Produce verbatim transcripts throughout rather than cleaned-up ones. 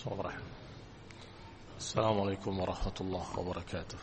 Bismillahirrahmanirrahim. Assalamualaikum warahmatullahi wabarakatuh.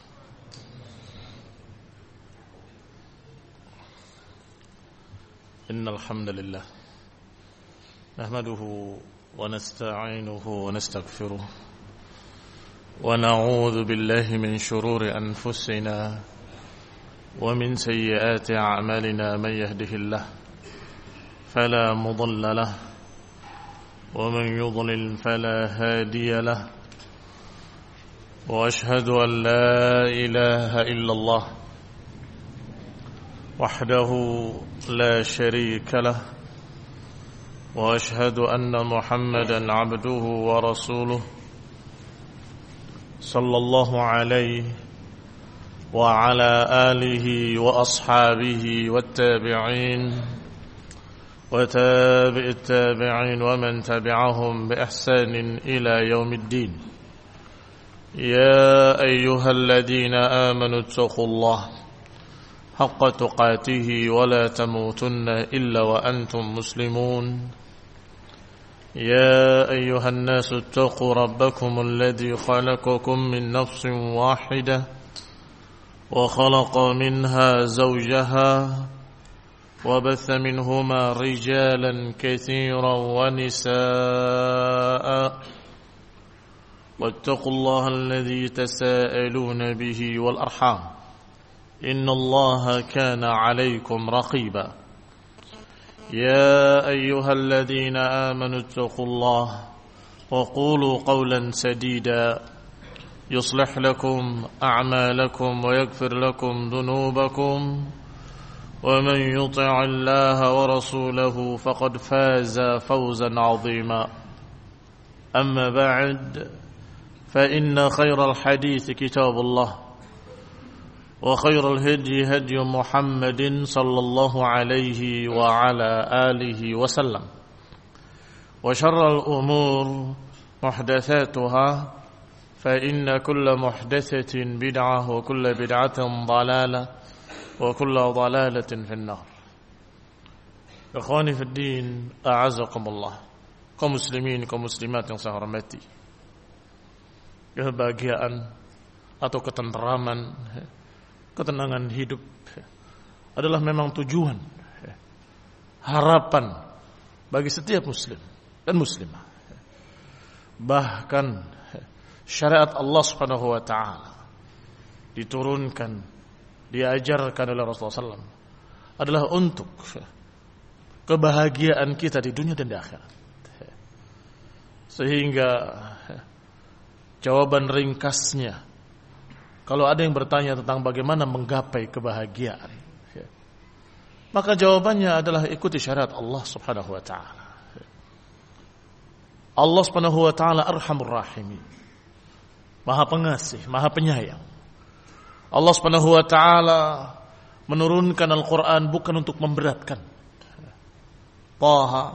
Innal hamdalillah nahmaduhu wa nasta'inuhu wa nastaghfiruh wa na'udzu billahi min shururi anfusina wa min sayyiati a'malina man yahdihillahu fala mudilla lahu ومن يضلل فلا هادي له وأشهد أن لا إله إلا الله وحده لا شريك له وأشهد أن محمدا عبده ورسوله صلى الله عليه وعلى آله وأصحابه والتابعين وتابع التابعين ومن تبعهم بإحسان إلى يوم الدين. يا أيها الذين آمنوا اتقوا الله حق تقاته ولا تموتن إلا وأنتم مسلمون. يا أيها الناس اتقوا ربكم الذي خلقكم من نفس واحدة وخلق منها زوجها وبث منهما رجالا كثيرا ونساء واتقوا الله الذي تساءلون به والأرحام إن الله كان عليكم رقيبا. يا أيها الذين آمنوا اتقوا الله وقولوا قولا سديدا يصلح لكم أعمالكم ويغفر لكم ذنوبكم ومن يطع الله ورسوله فقد فاز فوزا عظيما. أما بعد فإن خير الحديث كتاب الله وخير الهدي هدي محمد صلى الله عليه وعلى آله وسلم وشر الأمور محدثاتها فإن كل محدثة بدعة وكل بدعة ضلالة wa kullu dhalalatin finnar. Ikhwani fid din, a'azakumullah. Kaum muslimin, kaum muslimat yang saya hormati. Kebahagiaan atau ketenteraman, ketenangan hidup adalah memang tujuan, harapan bagi setiap muslim dan muslimah. Bahkan syariat Allah Subhanahu wa taala diturunkan, diajarkan oleh Rasulullah sallallahu alaihi wasallam adalah untuk kebahagiaan kita di dunia dan di akhirat. Sehingga jawaban ringkasnya, kalau ada yang bertanya tentang bagaimana menggapai kebahagiaan, maka jawabannya adalah ikuti syariat Allah Subhanahu wa taala. Allah Subhanahu wa taala Arhamur Rahimin, Maha Pengasih, Maha Penyayang. Allah Subhanahu wa taala menurunkan Al-Qur'an bukan untuk memberatkan. Taha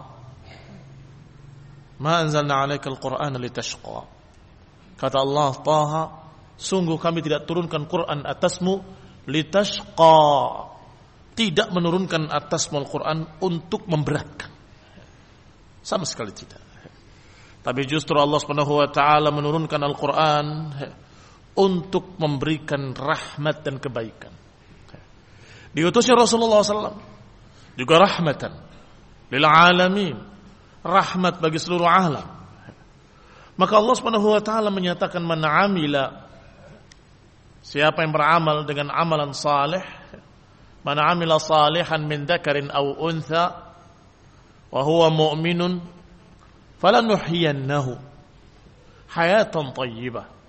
ma anzalna 'alaikal Qur'ana litashqa. Kata Allah, Taha, sungguh kami tidak turunkan Quran atasmu litashqa. Tidak menurunkan atasmu Al-Qur'an untuk memberatkan. Sama sekali tidak. Tapi justru Allah Subhanahu wa taala menurunkan Al-Qur'an untuk memberikan rahmat dan kebaikan. Diutusnya Rasulullah sallallahu alaihi wasallam juga rahmatan lil alamin, rahmat bagi seluruh alam. Maka Allah Subhanahu wa taala menyatakan, man amila, siapa yang beramal dengan amalan saleh, man amila salihan min dzakarin aw untha wa huwa mu'minun falanuhyiyannahu hayatan thayyibah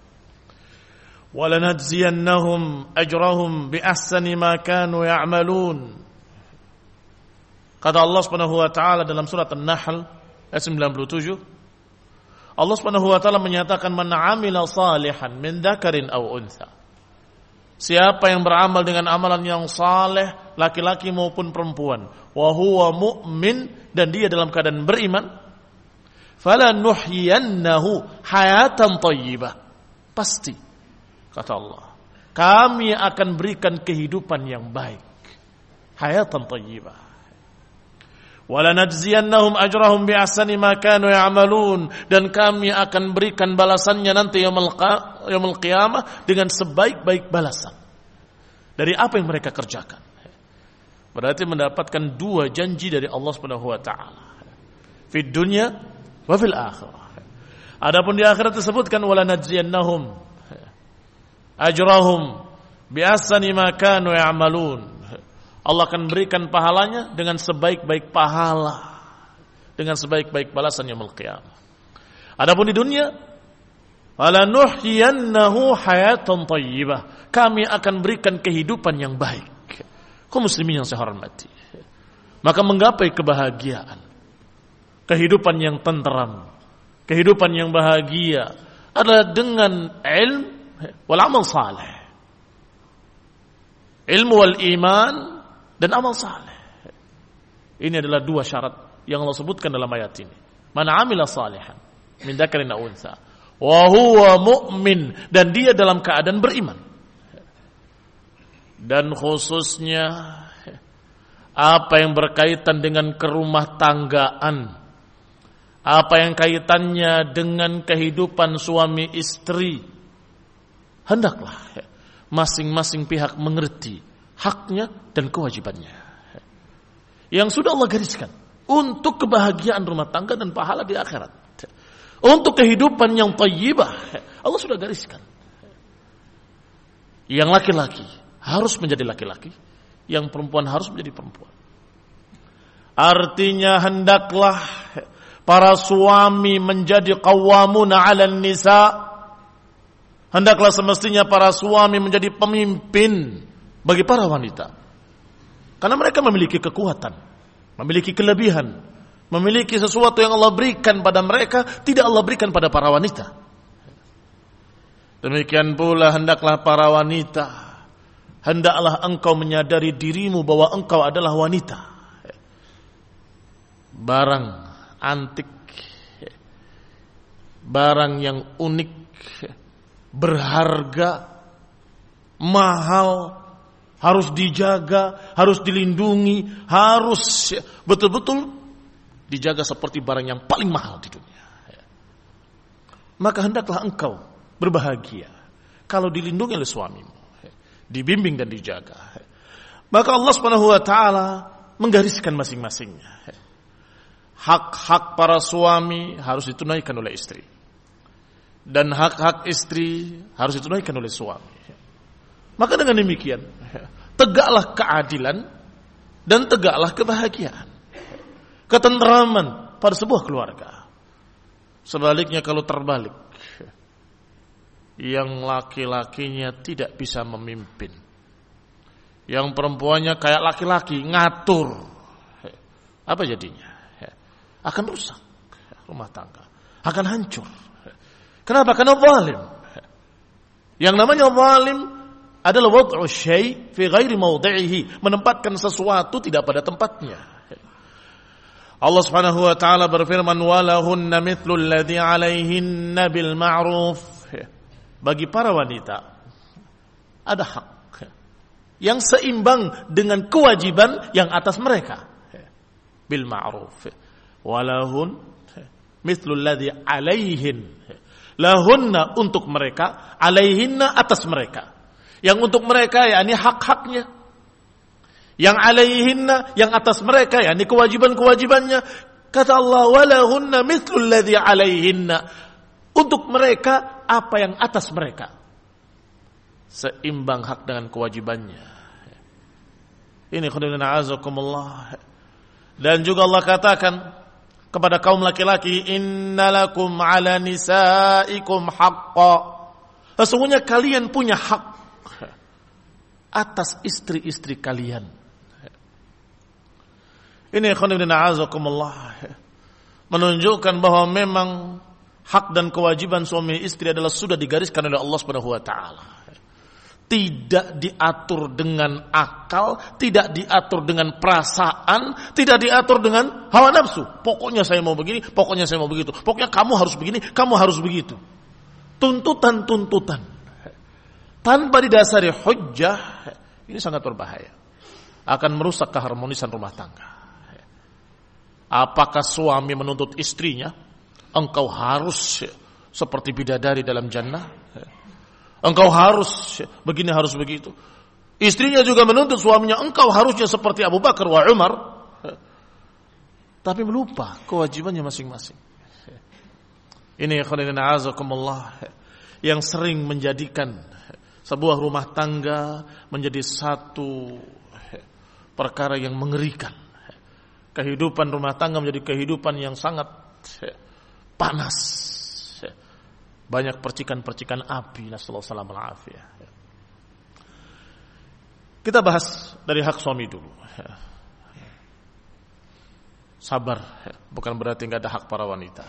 وَلَنَجْزِيَنَّهُمْ أَجْرَهُمْ بِأَحْسَنِ مَا كَانُوا يَعْمَلُونَ. Kata Allah Subhanahu wa taala dalam surat An-Nahl ayat sembilan puluh tujuh, Allah Subhanahu wa taala menyatakan, man 'amila salihan min dzakarin aw untha. Siapa yang beramal dengan amalan yang saleh, laki-laki maupun perempuan, wa huwa mu'min, dan dia dalam keadaan beriman, falanuhyiyannahu hayatan thayyibah. Pasti, kata Allah, kami akan berikan kehidupan yang baik, hayatan thayyibah. Walanajziyannahum ajrahum bi'ahsani ma kanu ya'malun, dan kami akan berikan balasannya nanti yaumul qiyamah dengan sebaik-baik balasan dari apa yang mereka kerjakan. Berarti mendapatkan dua janji dari Allah Subhanahu wa taala. Fid dunya wa fil akhirah. Adapun di akhirat disebutkan walanajziyannahum ajrahum bi'ahsani ma kanu ya'malun. Allah akan berikan pahalanya dengan sebaik-baik pahala, dengan sebaik-baik balasan yaumul qiyamah. Adapun di dunia, walanuhyiyannahu hayatan thayyibah. Kami akan berikan kehidupan yang baik. Kaum muslimin yang saya hormati, maka menggapai kebahagiaan, kehidupan yang tenteram, kehidupan yang bahagia adalah dengan ilmu wal amal saleh. Ilmu wal iman dan amal saleh. Ini adalah dua syarat yang Allah sebutkan dalam ayat ini. Man amila salihan min dzakarin aw untha wa huwa mu'min, dan dia dalam keadaan beriman. Dan khususnya apa yang berkaitan dengan kerumah tanggaan, apa yang kaitannya dengan kehidupan suami istri, hendaklah masing-masing pihak mengerti haknya dan kewajibannya yang sudah Allah gariskan untuk kebahagiaan rumah tangga dan pahala di akhirat. Untuk kehidupan yang thayyibah Allah sudah gariskan. Yang laki-laki harus menjadi laki-laki, yang perempuan harus menjadi perempuan. Artinya hendaklah para suami menjadi qawwamuna 'alan nisa. Hendaklah semestinya para suami menjadi pemimpin bagi para wanita. Karena mereka memiliki kekuatan, memiliki kelebihan, memiliki sesuatu yang Allah berikan pada mereka, tidak Allah berikan pada para wanita. Demikian pula hendaklah para wanita, hendaklah engkau menyadari dirimu bahwa engkau adalah wanita. Barang antik, barang yang unik, berharga, mahal, harus dijaga, harus dilindungi, harus betul-betul dijaga seperti barang yang paling mahal di dunia. Maka hendaklah engkau berbahagia kalau dilindungi oleh suamimu, dibimbing dan dijaga. Maka Allah Subhanahu wa taala menggariskan masing-masingnya. Hak-hak para suami harus ditunaikan oleh istri, dan hak-hak istri harus ditunaikan oleh suami. Maka dengan demikian, tegaklah keadilan dan tegaklah kebahagiaan, ketenteraman pada sebuah keluarga. Sebaliknya kalau terbalik, yang laki-lakinya tidak bisa memimpin, yang perempuannya kayak laki-laki ngatur, apa jadinya? Akan rusak rumah tangga, akan hancur. Kenapa? Karena zalim. Yang namanya zalim adalah wad'u syai' fi ghairi mawdi'ihi, menempatkan sesuatu tidak pada tempatnya. Allah Subhanahu wa taala berfirman, walahunna mithlu alladhi 'alaihinna bil ma'ruf. Bagi para wanita ada hak yang seimbang dengan kewajiban yang atas mereka. Bil ma'ruf. Walahun mithlu alladhi 'alaihin. Lahunna untuk mereka, 'alaihinna atas mereka. Yang untuk mereka yakni hak-haknya, yang 'alaihinna yang atas mereka yakni kewajiban-kewajibannya. Kata Allah, walahunna mithlul ladzi 'alaihinna, untuk mereka apa yang atas mereka, seimbang hak dengan kewajibannya. Ini khudina azakumullah. Dan juga Allah katakan kepada kaum laki-laki, innalakum 'ala nisaikum haqqan, sesungguhnya kalian punya hak atas istri-istri kalian. Ini khonibina azakumullah, menunjukkan bahwa memang hak dan kewajiban suami istri adalah sudah digariskan oleh Allah Subhanahu wa taala. Tidak diatur dengan akal, tidak diatur dengan perasaan, tidak diatur dengan hawa nafsu. Pokoknya saya mau begini, pokoknya saya mau begitu. Pokoknya kamu harus begini, kamu harus begitu. Tuntutan-tuntutan tanpa didasari hujjah, ini sangat berbahaya, akan merusak keharmonisan rumah tangga. Apakah suami menuntut istrinya, engkau harus seperti bidadari dalam jannah, engkau harus begini, harus begitu. Istrinya juga menuntut suaminya, engkau harusnya seperti Abu Bakar wa Umar, tapi melupa kewajibannya masing-masing. Ini khairan azakumullah yang sering menjadikan sebuah rumah tangga menjadi satu perkara yang mengerikan. Kehidupan rumah tangga menjadi kehidupan yang sangat panas. Banyak percikan-percikan api. Nasallahu alaihi wasallam. Kita bahas dari hak suami dulu. Sabar, bukan berarti enggak ada hak para wanita.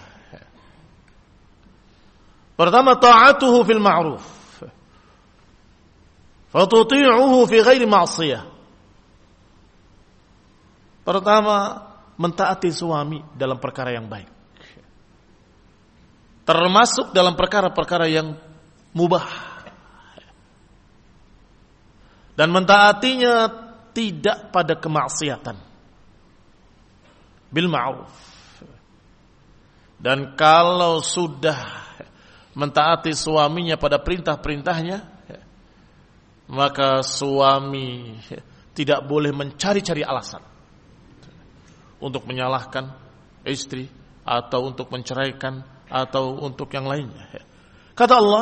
Pertama, ta'atuhu fil ma'ruf. Fatuti'uhu fi ghairi ma'siyah. Pertama, mentaati suami dalam perkara yang baik. Termasuk dalam perkara-perkara yang mubah. Dan mentaatinya tidak pada kemaksiatan. Bil ma'ruf. Dan kalau sudah mentaati suaminya pada perintah-perintahnya, maka suami tidak boleh mencari-cari alasan untuk menyalahkan istri atau untuk menceraikan atau untuk yang lainnya. Kata Allah,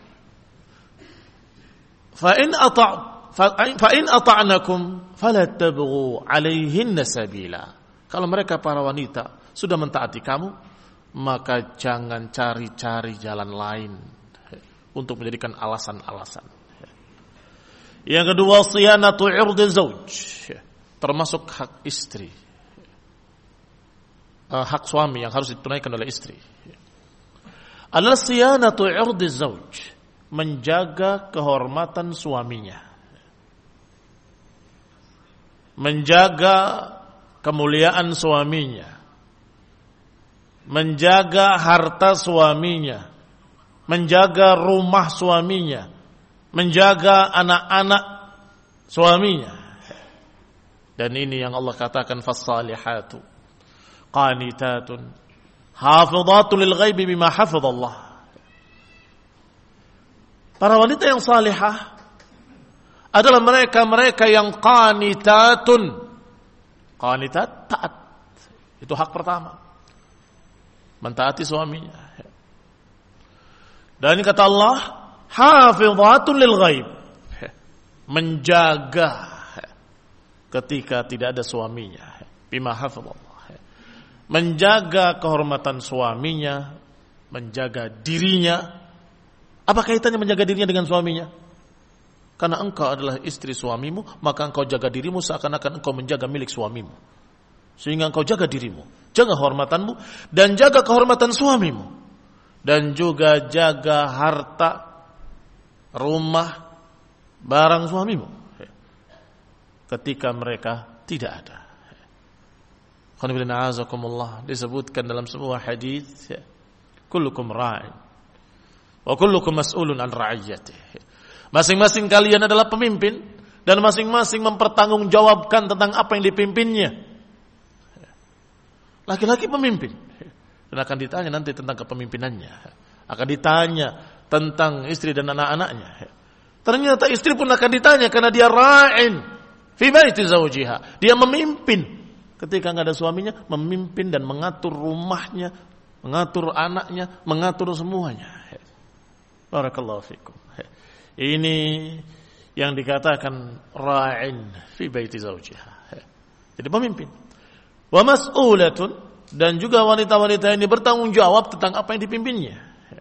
fa in ata' fa in ata'nakum fala tabghu 'alaihinna sabila. Kalau mereka para wanita sudah mentaati kamu, maka jangan cari-cari jalan lain untuk menjadikan alasan-alasan. Yang kedua, siyanatu 'irdi zauj, termasuk hak istri, hak suami yang harus ditunaikan oleh istri. Adalah siyanatu 'irdi zauj, menjaga kehormatan suaminya, menjaga kemuliaan suaminya, menjaga harta suaminya, menjaga rumah suaminya, menjaga anak-anak suaminya. Dan ini yang Allah katakan, fas-salihatu qanitatun hafidhatun lil ghaibi bima hafidhallah. Para wanita yang salihah adalah mereka-mereka yang qanitatun. Qanitat, taat. Itu hak pertama, mentaati suaminya. Dan ini kata Allah, hafidhatun lil ghaib, menjaga ketika tidak ada suaminya, bima hafidhallah, menjaga kehormatan suaminya, menjaga dirinya. Apa kaitannya menjaga dirinya dengan suaminya? Karena engkau adalah istri suamimu, maka engkau jaga dirimu seakan-akan engkau menjaga milik suamimu. Sehingga engkau jaga dirimu, jaga kehormatanmu, dan jaga kehormatan suamimu. Dan juga jaga harta, rumah, barang suamimu ketika mereka tidak ada. Disebutkan dalam sebuah hadis, kullukum ra'in wa kullukum mas'ulun an ra'iyatihi. Masing-masing kalian adalah pemimpin dan masing-masing mempertanggungjawabkan tentang apa yang dipimpinnya. Laki-laki pemimpin dan akan ditanya nanti tentang kepemimpinannya, akan ditanya tentang istri dan anak-anaknya. Ternyata istri pun akan ditanya karena dia ra'in fi baiti zawjiha. Dia memimpin ketika enggak ada suaminya, memimpin dan mengatur rumahnya, mengatur anaknya, mengatur semuanya. Barakallahu fikum. Ini yang dikatakan ra'in fi baiti zawjiha. Jadi pemimpin. Wa mas'ulatun, dan juga wanita-wanita ini bertanggung jawab tentang apa yang dipimpinnya.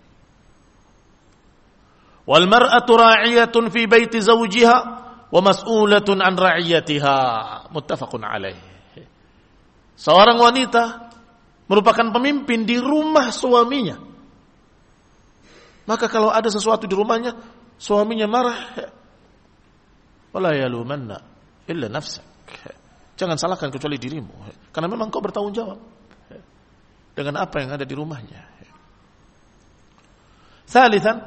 Wal mar'atu ra'iyatun fi baiti zawjiha wa mas'ulatun an ra'iyatiha. Muttafaqun alaih. Seorang wanita merupakan pemimpin di rumah suaminya. Maka kalau ada sesuatu di rumahnya, suaminya marah, wala yalumanna illa nafsak. Jangan salahkan kecuali dirimu, karena memang kau bertanggung jawab dengan apa yang ada di rumahnya. Thalithan,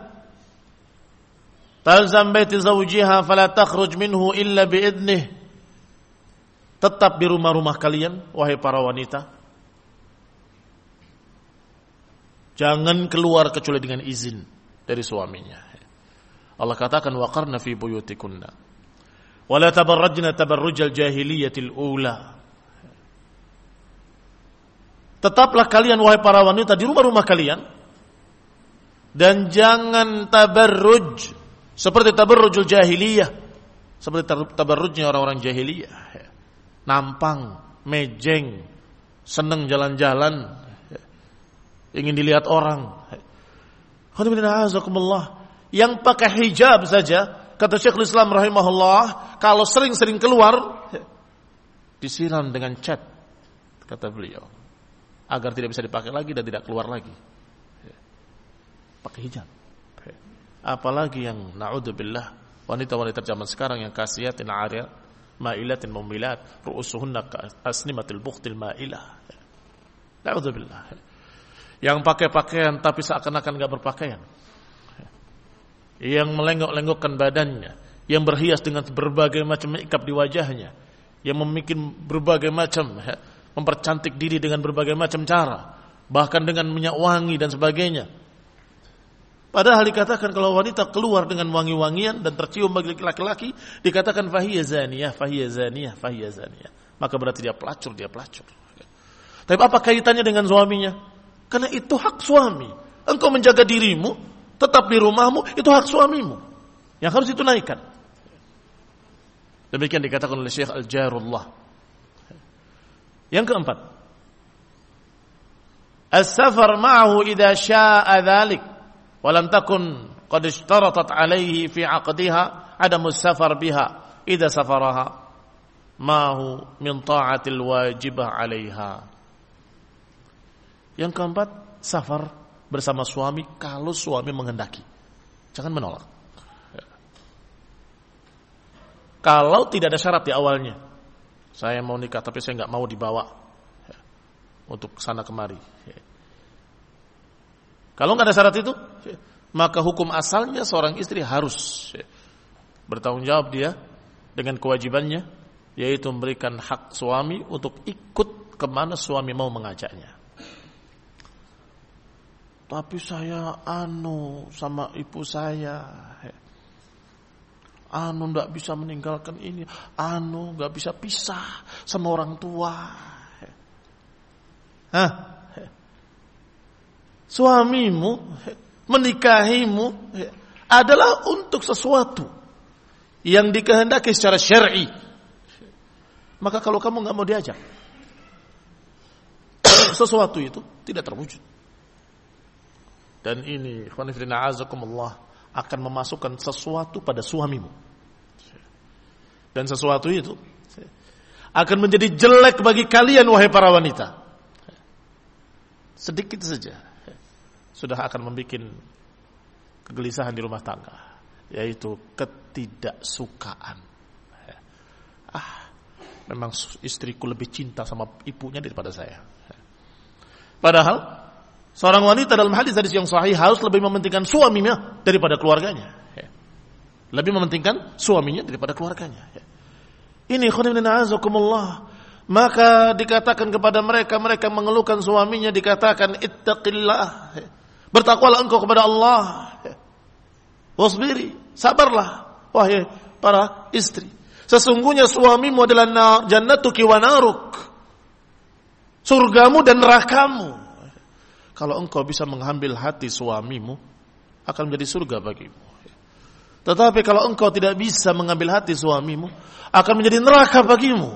talzam baiti zawjiha fala takhruj minhu illa biidnih. Tetap di rumah-rumah kalian, wahai para wanita, Jangan keluar kecuali dengan izin dari suaminya. Allah katakan waqarna fi buyutikunna wa la tabarrajna tabarrujal jahiliyatil ula. Tetaplah kalian wahai para wanita di rumah-rumah kalian dan jangan tabarruj seperti tabarrujul jahiliyah, seperti tabarrujnya orang-orang jahiliyah. Nampang, mejeng, seneng jalan-jalan, ingin dilihat orang. Yang pakai hijab saja, kata Syekhul Islam rahimahullah, kalau sering-sering keluar disiram dengan cat, kata beliau, agar tidak bisa dipakai lagi dan tidak keluar lagi. Pakai hijab. Apalagi yang na'udzubillah wanita-wanita zaman sekarang yang kasiatin 'ariyat, ma'ilatin mumilat, ru'usuhunna asnimatil bukhtil ma'ilah. Na'udzubillah. Yang pakai pakaian tapi seakan-akan enggak berpakaian. Yang melenggok-lenggokkan badannya, yang berhias dengan berbagai macam makeup di wajahnya, yang membuat berbagai macam, mempercantik diri dengan berbagai macam cara, bahkan dengan minyak wangi dan sebagainya. Padahal dikatakan kalau wanita keluar dengan wangi-wangian dan tercium bagi laki-laki, dikatakan fahiya zaniyah, fahiya zaniyah, fahiya zaniyah. Maka berarti dia pelacur, dia pelacur. Tapi apa kaitannya dengan suaminya? Karena itu hak suami. Engkau menjaga dirimu, tetap di rumahmu, itu hak suamimu yang harus ditunaikan. Demikian dikatakan oleh Syekh Al-Jarullah. Yang keempat, as-safar ma'ahu idza syaa'a dzalik wa lam takun qad ishtaratat 'alaihi fi 'aqdiha 'adamu as-safar biha idza safaraha ma'ahu min ta'atil wajibah 'alaiha. Yang keempat, safar bersama suami kalau suami menghendaki. Jangan menolak. Kalau tidak ada syarat di awalnya, saya mau nikah tapi saya nggak mau dibawa untuk sana kemari. Kalau nggak ada syarat itu, maka hukum asalnya seorang istri harus bertanggung jawab dia dengan kewajibannya, yaitu memberikan hak suami untuk ikut kemana suami mau mengajaknya. Tapi saya anu sama ibu saya, anu nggak bisa meninggalkan ini, anu nggak bisa pisah sama orang tua. Hah? Suamimu menikahimu adalah untuk sesuatu yang dikehendaki secara syar'i. Maka kalau kamu nggak mau diajak, sesuatu itu tidak terwujud. Dan ini khonifrina azakumullah akan memasukkan sesuatu pada suamimu. Dan sesuatu itu akan menjadi jelek bagi kalian wahai para wanita. Sedikit saja sudah akan membuat kegelisahan di rumah tangga, yaitu ketidaksukaan. Ah, memang istriku lebih cinta sama ibunya daripada saya. Padahal seorang wanita dalam hadis hadis yang sahih harus lebih mementingkan suaminya daripada keluarganya. Lebih mementingkan suaminya daripada keluarganya. Ini khonifina azakumullah. Maka dikatakan kepada mereka, mereka mengeluhkan suaminya, dikatakan ittaqillah. Bertakwalah engkau kepada Allah. Wasbiri, sabarlah wahai para istri. Sesungguhnya suamimu adalah jannatuki wa naruk. Surgamu dan nerakamu. Kalau engkau bisa mengambil hati suamimu, akan menjadi surga bagimu. Tetapi kalau engkau tidak bisa mengambil hati suamimu, akan menjadi neraka bagimu.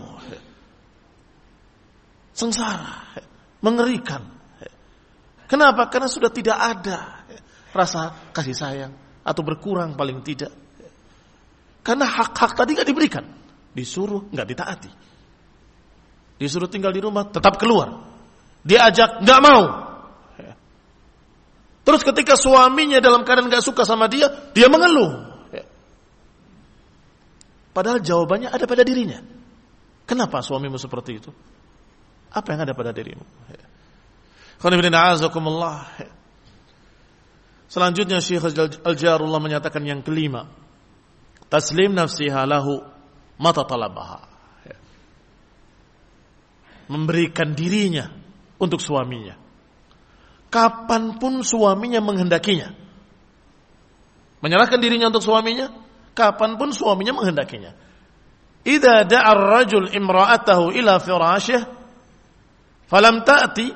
Sengsara, mengerikan. Kenapa? Karena sudah tidak ada rasa kasih sayang, atau berkurang paling tidak. Karena hak-hak tadi gak diberikan. Disuruh, gak ditaati. Disuruh tinggal di rumah, tetap keluar. Diajak, gak mau. Terus ketika suaminya dalam keadaan gak suka sama dia, dia mengeluh. Padahal jawabannya ada pada dirinya. Kenapa suamimu seperti itu? Apa yang ada pada dirimu? Selanjutnya Syekh Al-Jarullah menyatakan yang kelima, taslim nafsiha lahu mata talabaha. Memberikan dirinya untuk suaminya kapanpun suaminya menghendakinya. Menyerahkan dirinya untuk suaminya kapanpun suaminya menghendakinya. Idza da'a ar-rajul imra'atahu ila firashih falam ta'ti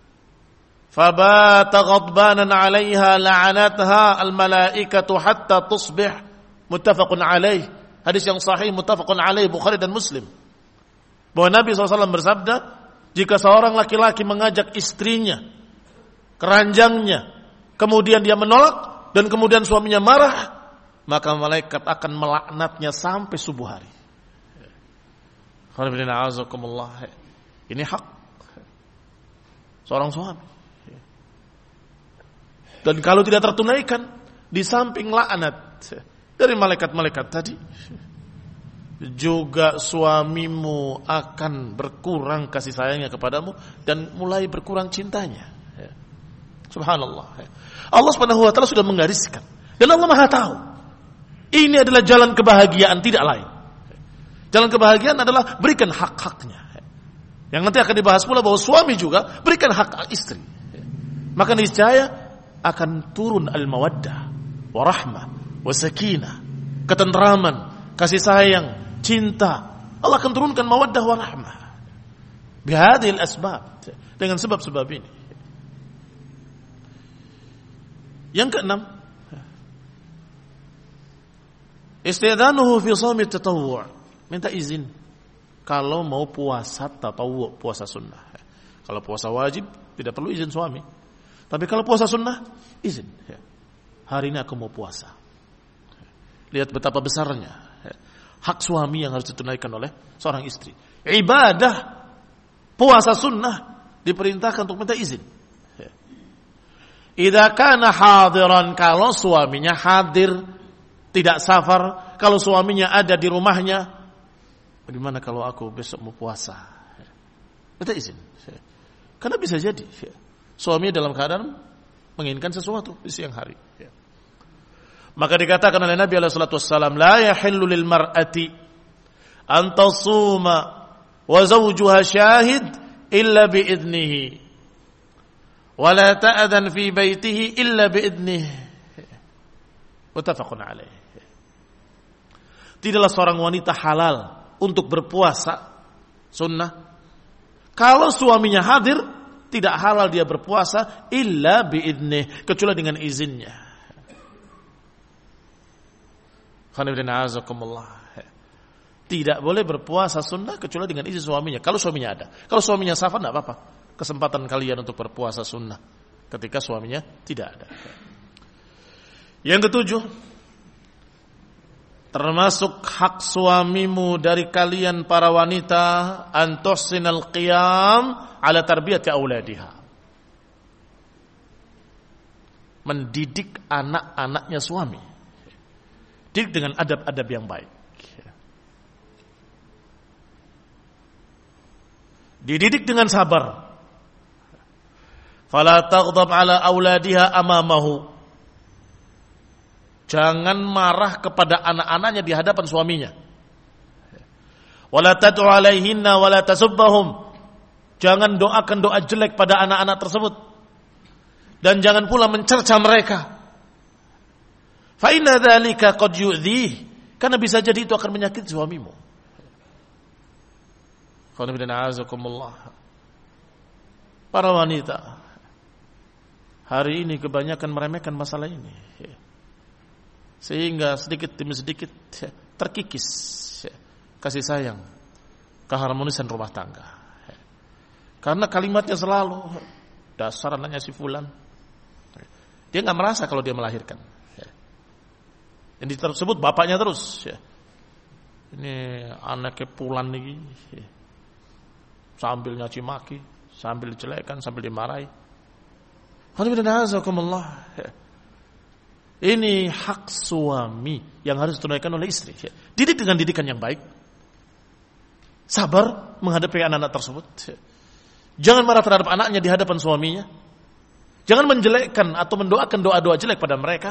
fabata ghadbanan 'alayha la'anatha al-malaikatu hatta tusbih. Muttafaqun 'alaih. Hadis yang sahih muttafaqun 'alaih Bukhari dan Muslim. Bahwa Nabi shallallahu alaihi wasallam bersabda, jika seorang laki-laki mengajak istrinya ke ranjangnya, kemudian dia menolak dan kemudian suaminya marah, maka malaikat akan melaknatnya sampai subuh hari. Ini hak seorang suami. Dan kalau tidak tertunaikan, di samping laknat dari malaikat-malaikat tadi, juga suamimu akan berkurang kasih sayangnya kepadamu dan mulai berkurang cintanya. Subhanallah. Allah Subhanahu wa taala sudah menggariskan dan Allah Maha tahu. Ini adalah jalan kebahagiaan, tidak lain. Jalan kebahagiaan adalah berikan hak-haknya. Yang nanti akan dibahas pula bahwa suami juga berikan hak istri. Maka niscaya akan turun al-mawaddah, warahmah, wasakinah, ketentraman, kasih sayang, cinta. Allah akan turunkan mawaddah warahmah. Bihadhil asbab, dengan sebab-sebab ini. Yang keenam, istidhanuhu fi shaumi tatawwu'. Minta izin kalau mau puasa tatawwu', puasa sunnah. Kalau puasa wajib tidak perlu izin suami. Tapi kalau puasa sunnah, izin. Hari ini aku mau puasa. Lihat betapa besarnya hak suami yang harus ditunaikan oleh seorang istri. Ibadah puasa sunnah diperintahkan untuk minta izin. Idza kana hadiran, kalau suaminya hadir, tidak safar, kalau suaminya ada di rumahnya, bagaimana kalau aku besok mau puasa? Minta izin. Karena bisa jadi suami dalam keadaan menginginkan sesuatu di siang hari. Maka dikatakan oleh Nabi alaihi salatu wassalam, la yahillu lil mar'ati an tasuma wa zawjuha syahid illa bi idnihi wa la ta'adhan fi baitihi illa bi idnihi. Muttafaqun alaih. Tidaklah seorang wanita halal untuk berpuasa sunnah kalau suaminya hadir, tidak halal dia berpuasa illa bi idnihi, kecuali dengan izinnya. Tidak boleh berpuasa sunnah kecuali dengan izin suaminya. Kalau suaminya ada, kalau suaminya safar tidak apa-apa. Kesempatan kalian untuk berpuasa sunnah ketika suaminya tidak ada. Yang ketujuh, termasuk hak suamimu dari kalian para wanita, an tuhsinal qiyam ala tarbiyati auladiha. Mendidik anak-anaknya suami. Didik dengan adab-adab yang baik. Dididik dengan sabar. Fala taghdab ala auladiha amamahu. Jangan marah kepada anak-anaknya di hadapan suaminya. Wala tad'u alaihinna wala tasubbahum. Jangan doakan doa jelek pada anak-anak tersebut. Dan jangan pula mencerca mereka. Fa inna dzalika qad yu'dhih. Karena bisa jadi itu akan menyakiti suamimu. Para wanita hari ini kebanyakan meremehkan masalah ini, sehingga sedikit demi sedikit terkikis kasih sayang, keharmonisan rumah tangga. Karena kalimatnya selalu dasar anaknya si fulan. Dia nggak merasa kalau dia melahirkan. Yang tersebut bapaknya terus. Ini anaknya pulan nih. Sambil nyaci maki, sambil dijelekan, sambil dimarahi. Ini hak suami yang harus ditunaikan oleh istri. Didik dengan didikan yang baik. Sabar menghadapi anak-anak tersebut. Jangan marah terhadap anaknya di hadapan suaminya. Jangan menjelekkan atau mendoakan doa-doa jelek pada mereka.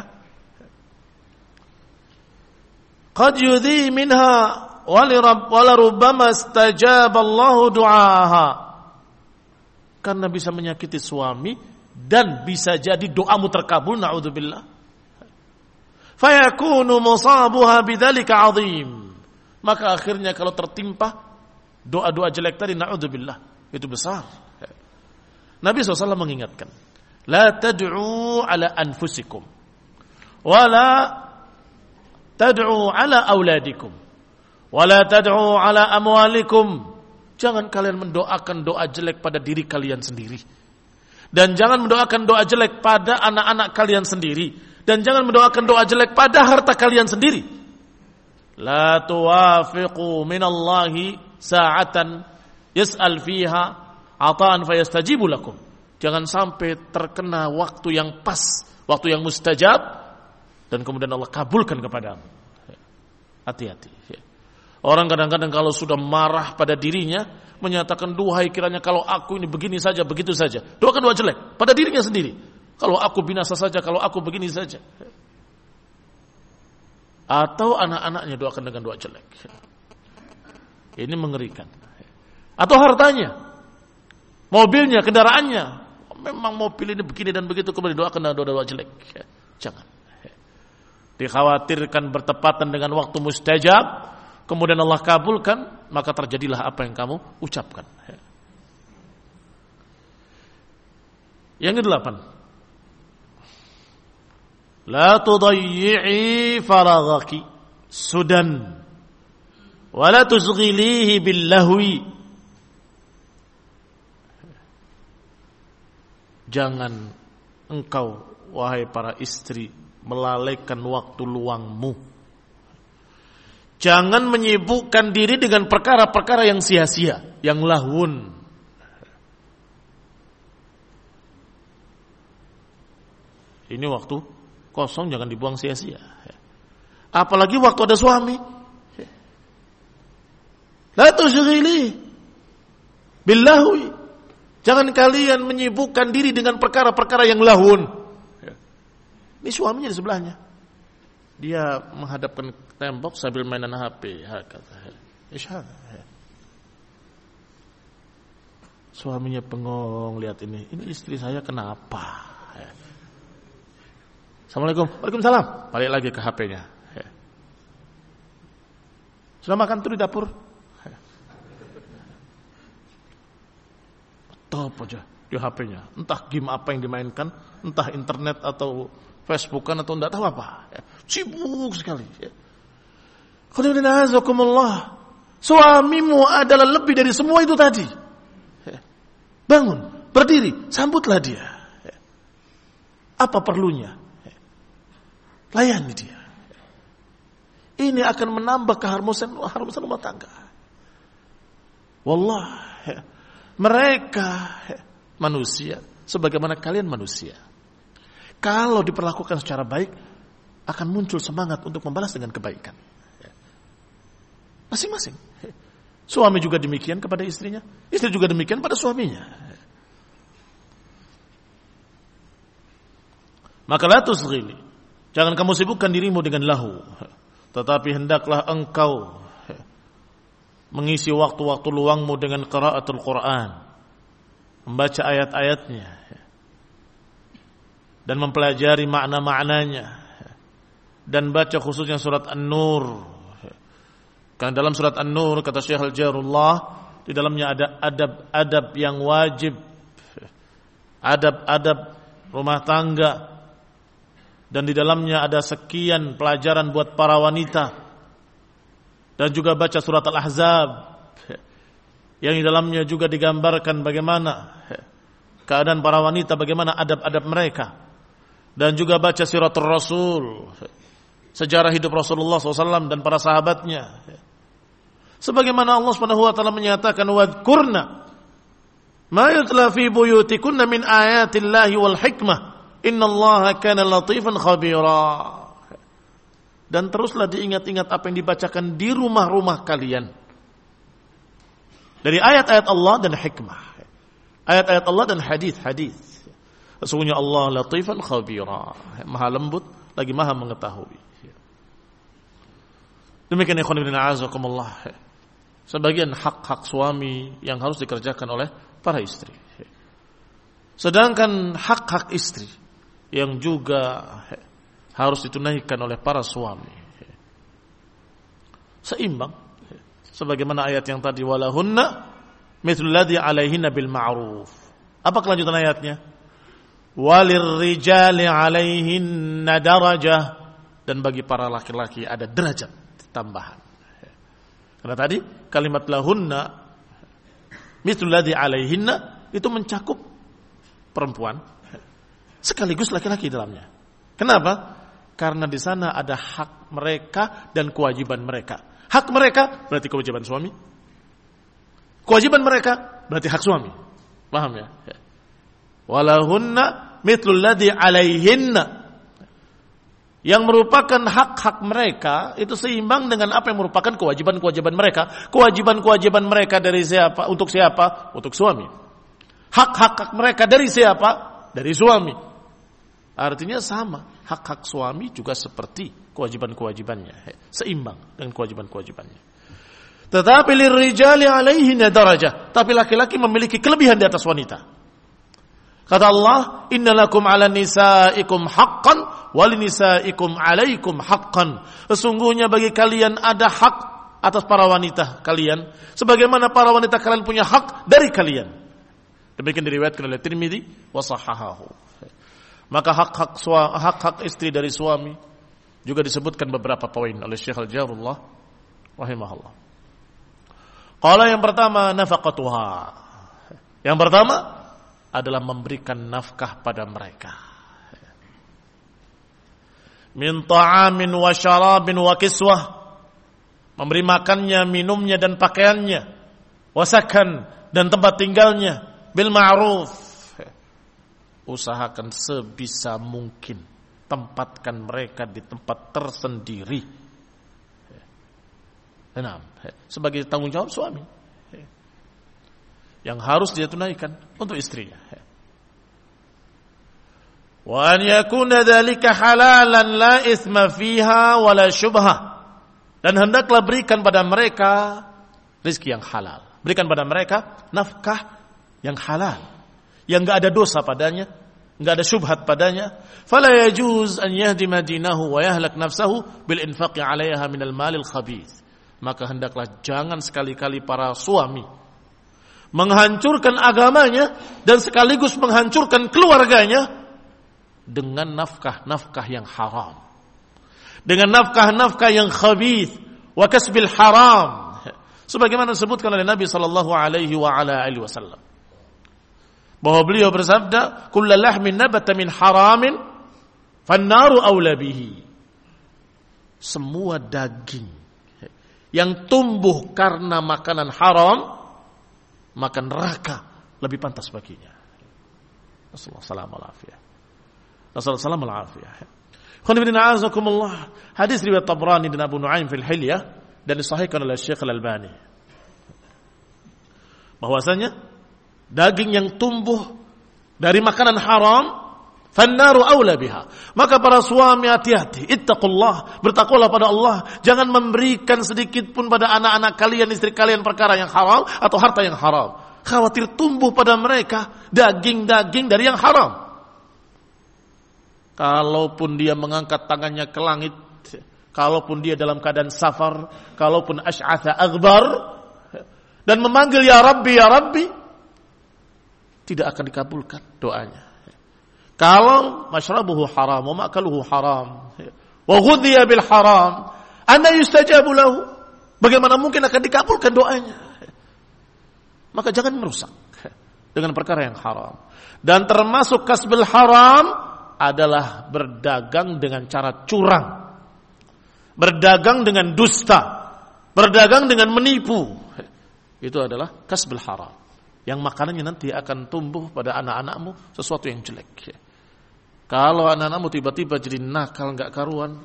Qad yudhi minha wala rubbama istajaba Allahu du'aha. Karena bisa menyakiti suami dan bisa jadi doamu terkabul, na'udzubillah. Fayakunu musabuha bidzalika 'azim. Maka akhirnya kalau tertimpa doa-doa jelek tadi, na'udzubillah, itu besar. Nabi shallallahu alaihi wasallam mengingatkan, la tad'u ala anfusikum wala tad'u ala auladikum wala tad'u ala amwalikum. Jangan kalian mendoakan doa jelek pada diri kalian sendiri, dan jangan mendoakan doa jelek pada anak-anak kalian sendiri, dan jangan mendoakan doa jelek pada harta kalian sendiri. La tuwafiqu minallahi sa'atan yas'al fiha ata'an fayastajibu lakum. Jangan sampai terkena waktu yang pas, waktu yang mustajab, dan kemudian Allah kabulkan kepadamu. Hati-hati. Orang kadang-kadang kalau sudah marah pada dirinya, menyatakan, duhai kiranya kalau aku ini begini saja, begitu saja. Doakan doa jelek pada dirinya sendiri. Kalau aku binasa saja, kalau aku begini saja. Atau anak-anaknya doakan dengan doa jelek. Ini mengerikan. Atau hartanya, mobilnya, kendaraannya, memang mobil ini begini dan begitu, kemudian doakan dengan doa-doa jelek. Jangan. Dikhawatirkan bertepatan dengan waktu mustajab, kemudian Allah kabulkan, maka terjadilah apa yang kamu ucapkan. Yang kedelapan, la tudayyi'i faraghaki sudan wa la tuzghilihi bil lahwi. Jangan engkau, wahai para istri, melalaikan waktu luangmu. Jangan menyibukkan diri dengan perkara-perkara yang sia-sia, yang lahun. Ini waktu kosong jangan dibuang sia-sia. Apalagi waktu ada suami. La tusyghili billahi. Jangan kalian menyibukkan diri dengan perkara-perkara yang lahun. Ini suaminya di sebelahnya. Dia menghadapkan tembok sambil mainan H P. Suaminya bengong lihat ini. Ini istri saya kenapa? Assalamualaikum. Waalaikumsalam. Balik lagi ke H P-nya. Sudah makan tuh di dapur? Top aja di H P-nya. Entah game apa yang dimainkan, entah internet atau Facebookan atau enggak tahu apa. Sibuk sekali. Suamimu adalah lebih dari semua itu tadi. Bangun, berdiri, sambutlah dia. Apa perlunya? Layani dia. Ini akan menambah keharmonisan rumah tangga. Wallah, mereka manusia sebagaimana kalian manusia. Kalau diperlakukan secara baik, akan muncul semangat untuk membalas dengan kebaikan. Masing-masing. Suami juga demikian kepada istrinya, istri juga demikian pada suaminya. Maka la tusghili, jangan kamu sibukkan dirimu dengan lahu, tetapi hendaklah engkau mengisi waktu-waktu luangmu dengan qiraatul Quran, membaca ayat-ayatnya dan mempelajari makna-maknanya, dan baca khususnya surat An-Nur. Karena dalam surat An-Nur kata Syekh Al-Jarullah, di dalamnya ada adab-adab yang wajib, adab-adab rumah tangga, dan di dalamnya ada sekian pelajaran buat para wanita. Dan juga baca surat Al-Ahzab yang di dalamnya juga digambarkan bagaimana keadaan para wanita, bagaimana adab-adab mereka. Dan juga baca siratul Rasul, sejarah hidup Rasulullah shallallahu alaihi wasallam dan para sahabatnya. Sebagaimana Allah subhanahu wa taala menyatakan, wadhkurna ma yutla fi buyutikunna min ayatillahi wal hikmah innallaha kana latifan khabira. Dan teruslah diingat-ingat apa yang dibacakan di rumah-rumah kalian dari ayat-ayat Allah dan hikmah, ayat-ayat Allah dan hadis-hadis. Sesungguhnya Allah latifan khabira, maha lembut lagi maha mengetahui. Demikian ikhwan fillah azakumullah, sebagian hak-hak suami yang harus dikerjakan oleh para istri. Sedangkan hak-hak istri yang juga harus ditunaikan oleh para suami seimbang, sebagaimana ayat yang tadi, walahunna mithlu alladhi 'alaihinna bil ma'ruf. Apa kelanjutan ayatnya? Walirrijali 'alaihinna darajah, dan bagi para laki-laki ada derajat tambahan. Karena tadi kalimat lahunna mithlu alladhi 'alaihinna itu mencakup perempuan sekaligus laki-laki dalamnya. Kenapa? Karena di sana ada hak mereka dan kewajiban mereka. Hak mereka berarti kewajiban suami. Kewajiban mereka berarti hak suami. Paham ya? Walahunna mithlul ladzi 'alaihinna, yang merupakan hak-hak mereka itu seimbang dengan apa yang merupakan kewajiban-kewajiban mereka. Kewajiban-kewajiban mereka dari siapa? Untuk siapa? Untuk suami. Hak-hak mereka dari siapa? Dari suami. Artinya sama, hak-hak suami juga seperti kewajiban-kewajibannya, seimbang dengan kewajiban-kewajibannya. Tetapi lirrijali 'alaihinna darajah, tapi laki-laki memiliki kelebihan di atas wanita. Kata Allah, innalakum 'alan nisaikum haqqan walinisaikum 'alaikum haqqan. Sesungguhnya bagi kalian ada hak atas para wanita kalian, sebagaimana para wanita kalian punya hak dari kalian. Demikian diriwayatkan oleh Tirmidzi wa sahahahu. Maka hak-hak hak-hak istri dari suami juga disebutkan beberapa poin oleh Syekh Al-Jarullah rahimahullah. Qala yang pertama nafaqatuha. Yang pertama adalah memberikan nafkah pada mereka. Min ta'amin wa syarabin wa kiswah. Memberi makannya, minumnya dan pakaiannya. Wasakan dan tempat tinggalnya. Bil ma'ruf. Usahakan sebisa mungkin tempatkan mereka di tempat tersendiri. Nah, sebagai tanggung jawab suami yang harus dia tunaikan untuk istrinya. Wa an yakuna dzalika halalan la itsma fiha wala syubhah. Dan hendaklah berikan pada mereka rezeki yang halal. Berikan pada mereka nafkah yang halal, yang enggak ada dosa padanya, enggak ada syubhat padanya. Fala yajuz an yahdima dinahu wa yahlak nafsahu bil infaqi 'alaiha minal malil khabith. Maka hendaklah jangan sekali-kali para suami menghancurkan agamanya dan sekaligus menghancurkan keluarganya dengan nafkah-nafkah yang haram, dengan nafkah-nafkah yang khabith wa kasbil haram, sebagaimana disebutkan oleh Nabi sallallahu alaihi wa ala alihi wasallam, bahwa beliau bersabda, kullu lahmin nabata min haramin fannaru aula bihi. Semua daging yang tumbuh karena makanan haram, maka neraka lebih pantas baginya. Nasallallahu alaihi wasallam. Hadis riwayat Tabrani dan Abu Nuaim fil Hilyah dan disahihkan oleh Syekh Al-Albani, bahwasanya daging yang tumbuh dari makanan haram, fannaru aula biha. Maka para suami hati-hati, ittaqullah, bertakwalah pada Allah, jangan memberikan sedikit pun pada anak-anak kalian, istri kalian perkara yang haram atau harta yang haram. Khawatir tumbuh pada mereka daging-daging dari yang haram. Kalaupun dia mengangkat tangannya ke langit, kalaupun dia dalam keadaan safar, kalaupun asy'atha aghbar dan memanggil ya Rabbi ya Rabbi, tidak akan dikabulkan doanya. Kalau masyrabuhu haram wa ma'kaluhu haram wa ghudhiya bil haram, anna yustajabu lahu, bagaimana mungkin akan dikabulkan doanya? Maka jangan merusak dengan perkara yang haram. Dan termasuk kasbil haram adalah berdagang dengan cara curang, berdagang dengan dusta, berdagang dengan menipu. Itu adalah kasbil haram, yang makanannya nanti akan tumbuh pada anak-anakmu sesuatu yang jelek. Kalau anak-anakmu tiba-tiba jadi nakal nggak karuan,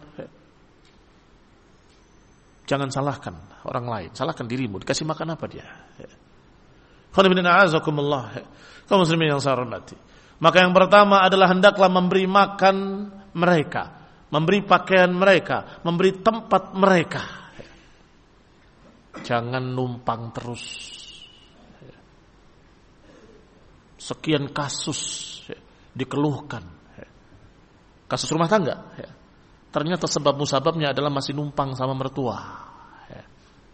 jangan salahkan orang lain, salahkan dirimu. Dikasih makan apa dia? Kaum muslimin yang saya hormati, maka yang pertama adalah hendaklah memberi makan mereka, memberi pakaian mereka, memberi tempat mereka. Jangan numpang terus. sekian kasus ya, dikeluhkan. Ya. Kasus rumah tangga. Ya. Ternyata sebab musababnya adalah masih numpang sama mertua. Ya.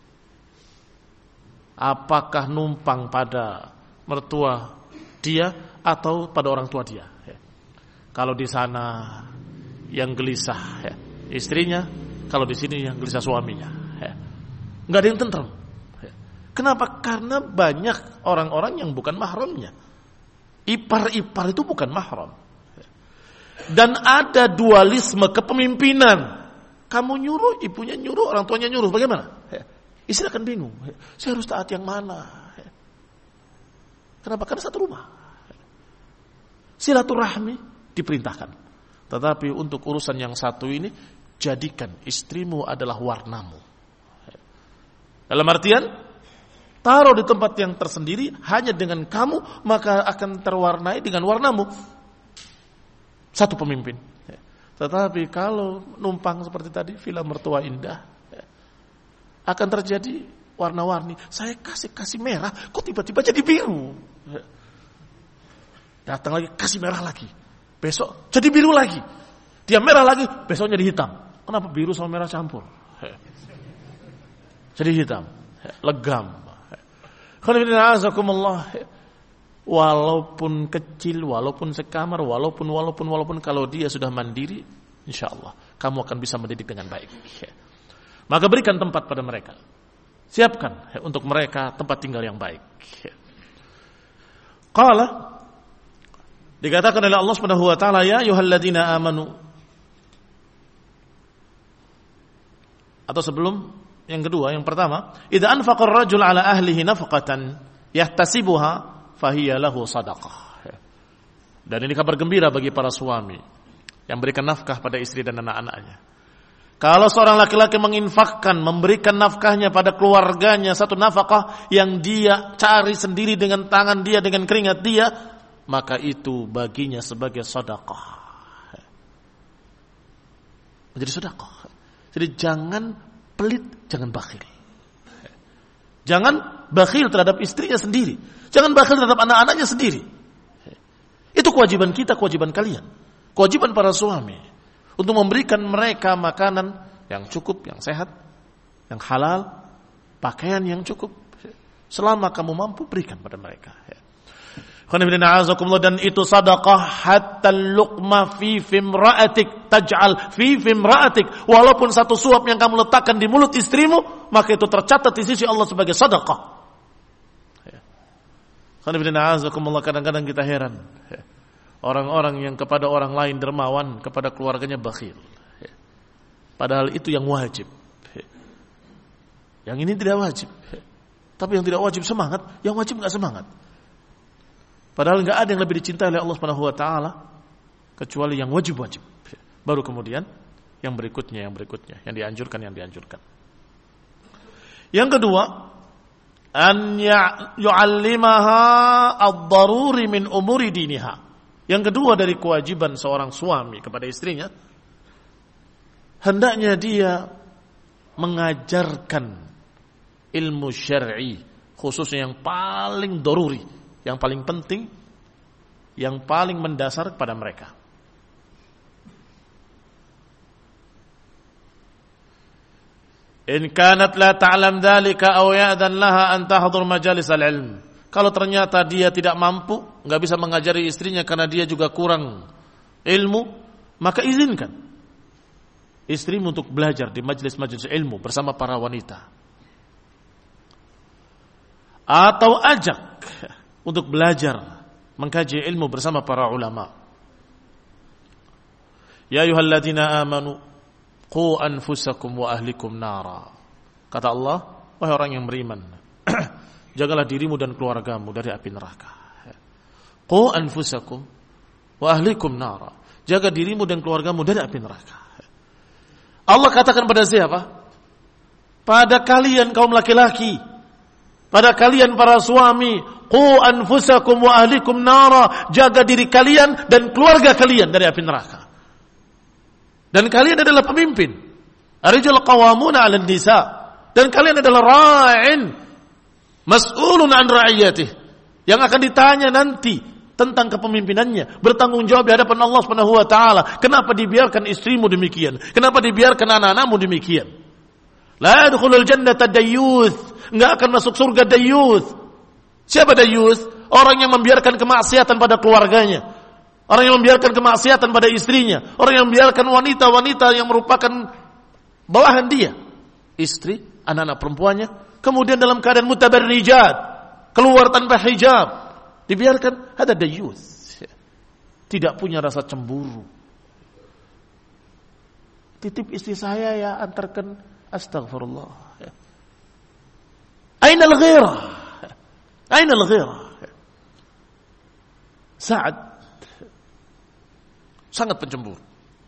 Apakah numpang pada mertua dia atau pada orang tua dia? Ya. Kalau di sana yang gelisah ya, istrinya, kalau di sini yang gelisah suaminya. Ya. Nggak ada yang tentrem. Ya. Kenapa? Karena banyak orang-orang yang bukan mahramnya. Ipar-ipar itu bukan mahram. Dan ada dualisme kepemimpinan. Kamu nyuruh, ibunya nyuruh, orang tuanya nyuruh. Bagaimana? Istri akan bingung. Saya harus taat yang mana? Kenapa? Karena satu rumah. Silaturahmi diperintahkan. Tetapi untuk urusan yang satu ini, jadikan istrimu adalah warnamu. Dalam artian, taruh di tempat yang tersendiri hanya dengan kamu, maka akan terwarnai dengan warnamu. Satu pemimpin. Tetapi kalau numpang seperti tadi, villa mertua indah, akan terjadi warna-warni. Saya kasih-kasih merah, kok tiba-tiba jadi biru. Datang lagi, kasih merah lagi. Besok jadi biru lagi. Dia merah lagi, besoknya jadi hitam. Kenapa biru sama merah campur? Jadi hitam. Legam. Walaupun kecil, walaupun sekamar, walaupun walaupun walaupun kalau dia sudah mandiri, insya Allah kamu akan bisa mendidik dengan baik. Maka berikan tempat pada mereka, siapkan untuk mereka tempat tinggal yang baik. Qala, dikatakan oleh Allah Subhanahu wa taala, ya ayyuhalladzina amanu. Atau sebelum yang kedua, yang pertama, idza anfaqa ar-rajul ala ahlihi nafqatan yahtasibuha fahiya lahu sadaqah. Dan ini kabar gembira bagi para suami yang berikan nafkah pada istri dan anak-anaknya. Kalau seorang laki-laki menginfakkan, memberikan nafkahnya pada keluarganya, satu nafkah yang dia cari sendiri dengan tangan dia, dengan keringat dia, maka itu baginya sebagai sedekah. Menjadi sedekah. Jadi jangan pelit, jangan bakhil. Jangan bakhil terhadap istrinya sendiri. Jangan bakhil terhadap anak-anaknya sendiri. Itu kewajiban kita, kewajiban kalian. Kewajiban para suami. Untuk memberikan mereka makanan yang cukup, yang sehat, yang halal, pakaian yang cukup. Selama kamu mampu, berikan pada mereka. Dan itu sadaqah hatta luqma fi fimra'atik taj'al fi fimra'atik. Walaupun satu suap yang kamu letakkan di mulut istrimu, maka itu tercatat di sisi Allah sebagai sadaqah. Kadang-kadang kita heran, orang-orang yang kepada orang lain dermawan, kepada keluarganya bakhil. Padahal itu yang wajib. Yang ini tidak wajib. Tapi yang tidak wajib semangat, yang wajib enggak semangat. Padahal enggak ada yang lebih dicintai oleh Allah Subhanahu wa taala kecuali yang wajib-wajib. Baru kemudian yang berikutnya, yang berikutnya, yang dianjurkan, yang dianjurkan. Yang kedua, an yu'allimaha ad-daruri min umuri diniha. Yang kedua dari kewajiban seorang suami kepada istrinya, hendaknya dia mengajarkan ilmu syar'i, khususnya yang paling daruri, yang paling penting, yang paling mendasar kepada mereka. In kanat la ta'lam dzalika aw ya'dan laha an tahdhur majalis al-ilm. Kalau ternyata dia tidak mampu, enggak bisa mengajari istrinya karena dia juga kurang ilmu, maka izinkan istrimu untuk belajar di majelis-majelis ilmu bersama para wanita. Atau ajak untuk belajar mengkaji ilmu bersama para ulama. Ya ayyuhalladzina amanu qu anfusakum wa ahlikum nara. Kata Allah, wahai orang yang beriman, jagalah dirimu dan keluargamu dari api neraka. Qu anfusakum wa ahlikum nara. Jaga dirimu dan keluargamu dari api neraka. Allah katakan pada siapa? Pada kalian kaum laki-laki, pada kalian para suami, qu anfusakum wa ahlikum nara. Jaga diri kalian dan keluarga kalian dari api neraka. Dan kalian adalah pemimpin. Ar-rijal qawwamuna 'alan nisa. Dan kalian adalah ra'in mas'ulun an ra'iyatih, yang akan ditanya nanti tentang kepemimpinannya, bertanggung jawab di hadapan Allah Subhanahu wa taala. Kenapa dibiarkan istrimu demikian? Kenapa dibiarkan anak-anakmu demikian? La yadkhulul jannata dayyuth, enggak akan masuk surga dayyuth. Siapa dayyuth? Orang yang membiarkan kemaksiatan pada keluarganya. Orang yang membiarkan kemaksiatan pada istrinya. Orang yang membiarkan wanita-wanita yang merupakan bawahan dia. Istri, anak-anak perempuannya. Kemudian dalam keadaan mutabarrijat. Keluar tanpa hijab. Dibiarkan, ada dayyuth. Tidak punya rasa cemburu. Titip istri saya ya, antarkan. Astaghfirullah. Aina al-ghirah? Aina al-ghirah? Sa'ad sangat pencemburu.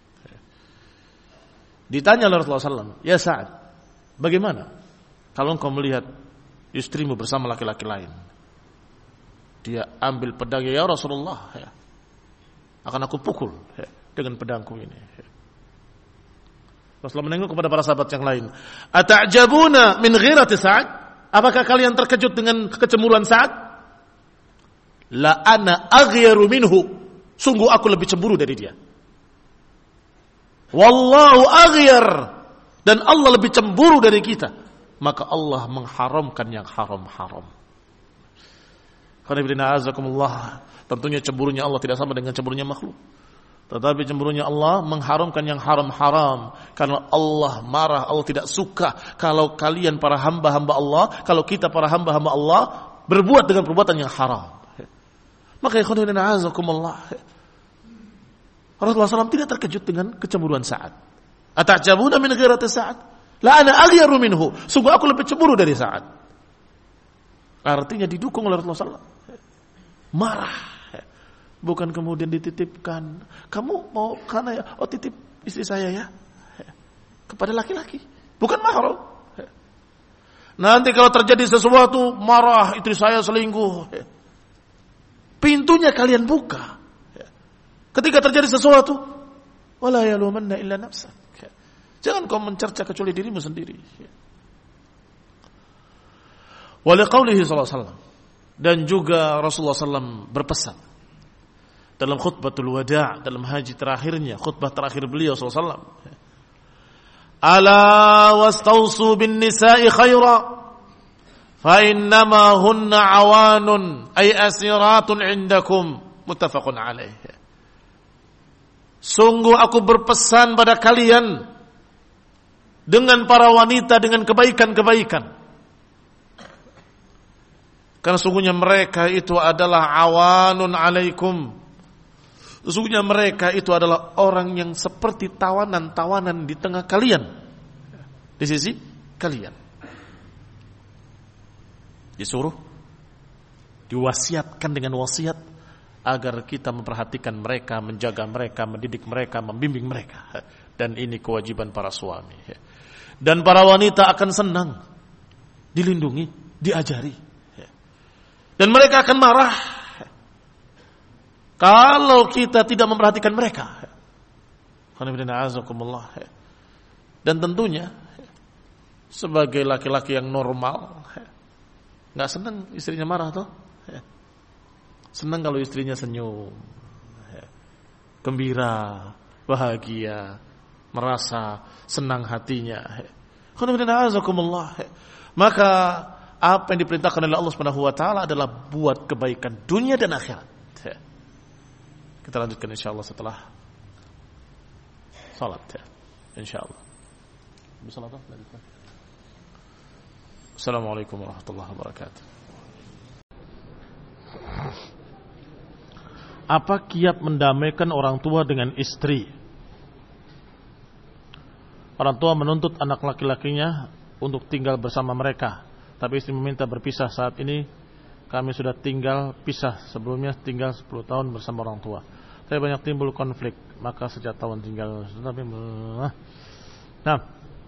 Ditanya oleh Rasulullah shallallahu alaihi wasallam, ya Sa'ad, bagaimana kalau engkau melihat istrimu bersama laki-laki lain? Dia ambil pedangnya, ya Rasulullah, ya, akan aku pukul ya, dengan pedangku ini. Ya. Rasulullah menengok kepada para sahabat yang lain. Ata'jabuna min ghirati Sa'ad? Apakah kalian terkejut dengan kecemburuan Sa'ad? La ana aghyaru minhu. Sungguh aku lebih cemburu dari dia. Wallahu aghyar, dan Allah lebih cemburu dari kita. Maka Allah mengharamkan yang haram-haram. Tentunya cemburunya Allah tidak sama dengan cemburunya makhluk. Tetapi cemburunya Allah mengharamkan yang haram-haram. Karena Allah marah, Allah tidak suka kalau kalian para hamba-hamba Allah, kalau kita para hamba-hamba Allah berbuat dengan perbuatan yang haram. Maka ikhwan fillah a'azakumullah, Rasulullah shallallahu alaihi wasallam tidak terkejut dengan kecemburuan Sa'ad. Ata'jabuna min ghirati Sa'ad? La ana aghyaru minhu. Sungguh aku lebih cemburu dari Sa'ad. Artinya didukung oleh Rasulullah shallallahu alaihi wasallam. Marah. Bukan kemudian dititipkan. Kamu mau karena ya, oh titip istri saya ya. Kepada laki-laki. Bukan mahram. Nanti kalau terjadi sesuatu, marah, istri saya selingkuh. Pintunya kalian buka. Ketika terjadi sesuatu, wala yalumanna illa nafsak. Jangan kau mencerca kecuali dirimu sendiri. Wa liqaulihi sallallahu alaihi wasallam, dan juga Rasulullah sallallahu alaihi wasallam berpesan dalam khutbatul wada', dalam haji terakhirnya, khutbah terakhir beliau sallallahu alaihi wasallam. Ala wastausu bin nisa'i khaira fa innama hunna awanun ay asiratun indakum, muttafaqun alaih. Sungguh aku berpesan pada kalian dengan para wanita dengan kebaikan-kebaikan. Karena sungguhnya mereka itu adalah awanun alaikum. Sungguhnya mereka itu adalah orang yang seperti tawanan-tawanan di tengah kalian. Di sisi kalian. Disuruh, diwasiatkan dengan wasiat agar kita memperhatikan mereka, menjaga mereka, mendidik mereka, membimbing mereka. Dan ini kewajiban para suami. Dan para wanita akan senang dilindungi, diajari. Dan mereka akan marah kalau kita tidak memperhatikan mereka. Dan tentunya sebagai laki-laki yang normal, nggak senang istrinya marah toh. Senang kalau istrinya senyum, gembira, bahagia, merasa senang hatinya. Maka apa yang diperintahkan oleh Allah Subhanahu wa taala adalah buat kebaikan dunia dan akhirat. Kita lanjutkan insyaallah setelah salat ya. Insyaallah. Assalamualaikum warahmatullahi wabarakatuh. Apa kiat mendamaikan orang tua dengan istri? Orang tua menuntut anak laki-lakinya untuk tinggal bersama mereka, tapi istri meminta berpisah. Saat ini kami sudah tinggal pisah, sebelumnya tinggal sepuluh tahun bersama orang tua. Saya banyak timbul konflik, maka sejak tahun tinggal. Nah,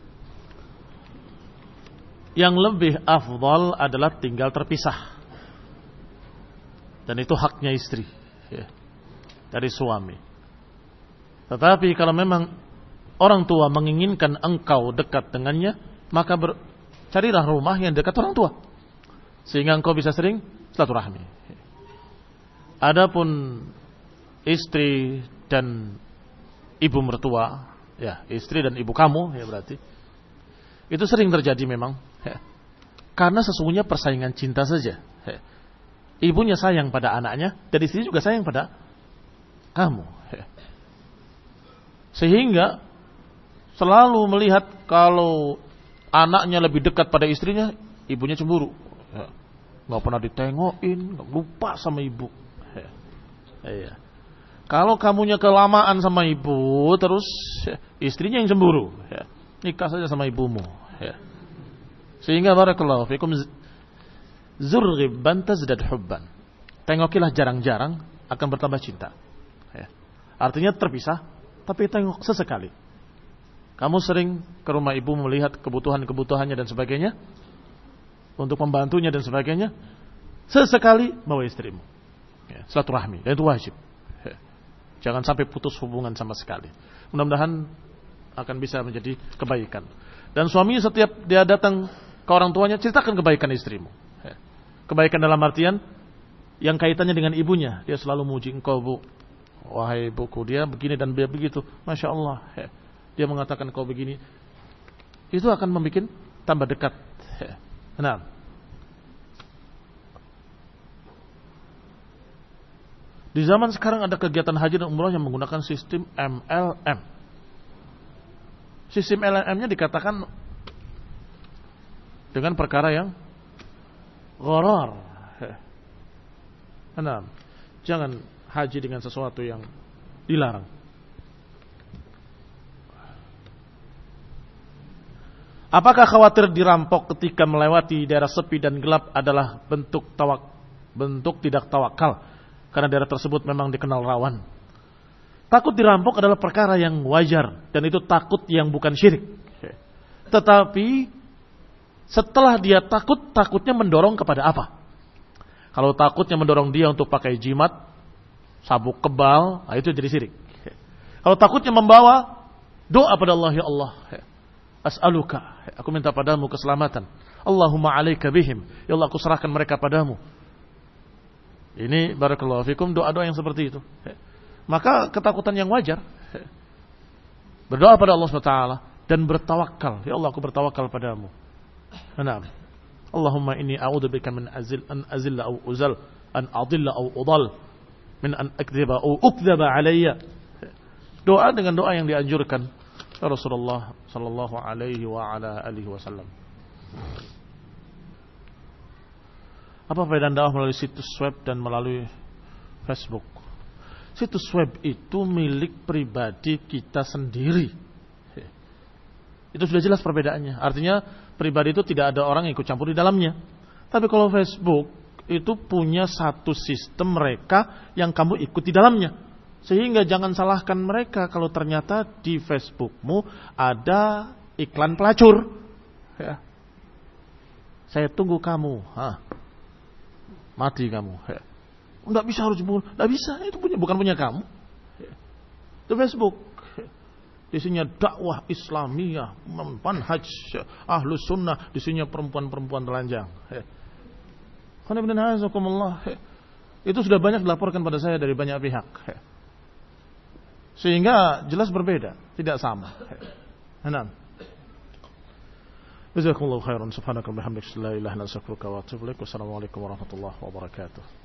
yang lebih afdal adalah tinggal terpisah, dan itu haknya istri ya, dari suami. Tetapi kalau memang orang tua menginginkan engkau dekat dengannya, maka ber, carilah rumah yang dekat orang tua, sehingga engkau bisa sering silaturahmi. Adapun istri dan ibu mertua, ya istri dan ibu kamu, ya berarti itu sering terjadi memang, ya. Karena sesungguhnya persaingan cinta saja. Ya. Ibunya sayang pada anaknya dan istri juga sayang pada kamu, ya. Sehingga selalu melihat kalau anaknya lebih dekat pada istrinya, ibunya cemburu. Ya. Gak pernah ditengokin, gak lupa sama ibu. Ya. Ya. Kalau kamunya kelamaan sama ibu, terus ya, istrinya yang cemburu. Ya. Nikah saja sama ibumu. Ya. Sehingga barakallahu fikum zurghibban tazdad hubban. Tengokilah jarang-jarang akan bertambah cinta. Ya. Artinya terpisah, tapi tengok sesekali. Kamu sering ke rumah ibu melihat kebutuhan-kebutuhannya dan sebagainya, untuk membantunya dan sebagainya. Sesekali bawa istrimu. Ya, silaturahmi, dan itu wajib. Ya. Jangan sampai putus hubungan sama sekali. Mudah-mudahan akan bisa menjadi kebaikan. Dan suami setiap dia datang ke orang tuanya, ceritakan kebaikan istrimu. Ya. Kebaikan dalam artian yang kaitannya dengan ibunya. Dia selalu muji engkau, Bu. Wahai buku, dia begini dan dia begitu. Masya Allah. Ya. Dia mengatakan kau begini. Itu akan membuat tambah dekat. Ya. Nah, di zaman sekarang ada kegiatan haji dan umrah yang menggunakan sistem M L M. Sistem M L M-nya dikatakan dengan perkara yang gharar. Nah, jangan haji dengan sesuatu yang dilarang. Apakah khawatir dirampok ketika melewati daerah sepi dan gelap adalah bentuk tawak, bentuk tidak tawakal karena daerah tersebut memang dikenal rawan? Takut dirampok adalah perkara yang wajar dan itu takut yang bukan syirik. Tetapi setelah dia takut, takutnya mendorong kepada apa? Kalau takutnya mendorong dia untuk pakai jimat, sabuk kebal, nah itu jadi syirik. Kalau takutnya membawa doa pada Allah, ya Allah, as'aluka, aku minta padamu keselamatan. Allahumma alaika bihim, ya Allah aku serahkan mereka padamu. Ini barakallahu fikum doa-doa yang seperti itu. Maka ketakutan yang wajar. Berdoa pada Allah subhanahu wa taala dan bertawakal. Ya Allah aku bertawakal padamu. Naam. Allahumma inni a'udzubika min azil an azilla aw uzal, an adilla aw udal, min an akdziba aw ukdzaba alayya. Doa dengan doa yang dianjurkan Rasulullah sallallahu alaihi wa ala alihi wasallam. Apa faedah dakwah melalui situs web dan melalui Facebook? Situs web itu milik pribadi kita sendiri. Itu sudah jelas perbedaannya. Artinya pribadi itu tidak ada orang yang ikut campur di dalamnya. Tapi kalau Facebook itu punya satu sistem mereka yang kamu ikut di dalamnya. Sehingga jangan salahkan mereka kalau ternyata di Facebookmu ada iklan pelacur. Ya. Saya tunggu kamu. Hah. Mati kamu. Ya. Nggak bisa harus dibunuh. Nggak bisa. Itu punya, bukan punya kamu. Ya. Itu Facebook. Ya. Isinya dakwah Islamiyah, manhaj ahlus sunnah. Isinya perempuan-perempuan telanjang. Ya. Ya. Itu sudah banyak dilaporkan pada saya dari banyak pihak. Ya. Sehingga jelas berbeda, tidak sama. Enam. Jazakumullahu khairan, subhanaka wa bihamdika, la ilaha illa anta astaghfiruka wa atubu ilaik. Wassalamualaikum warahmatullahi wabarakatuh.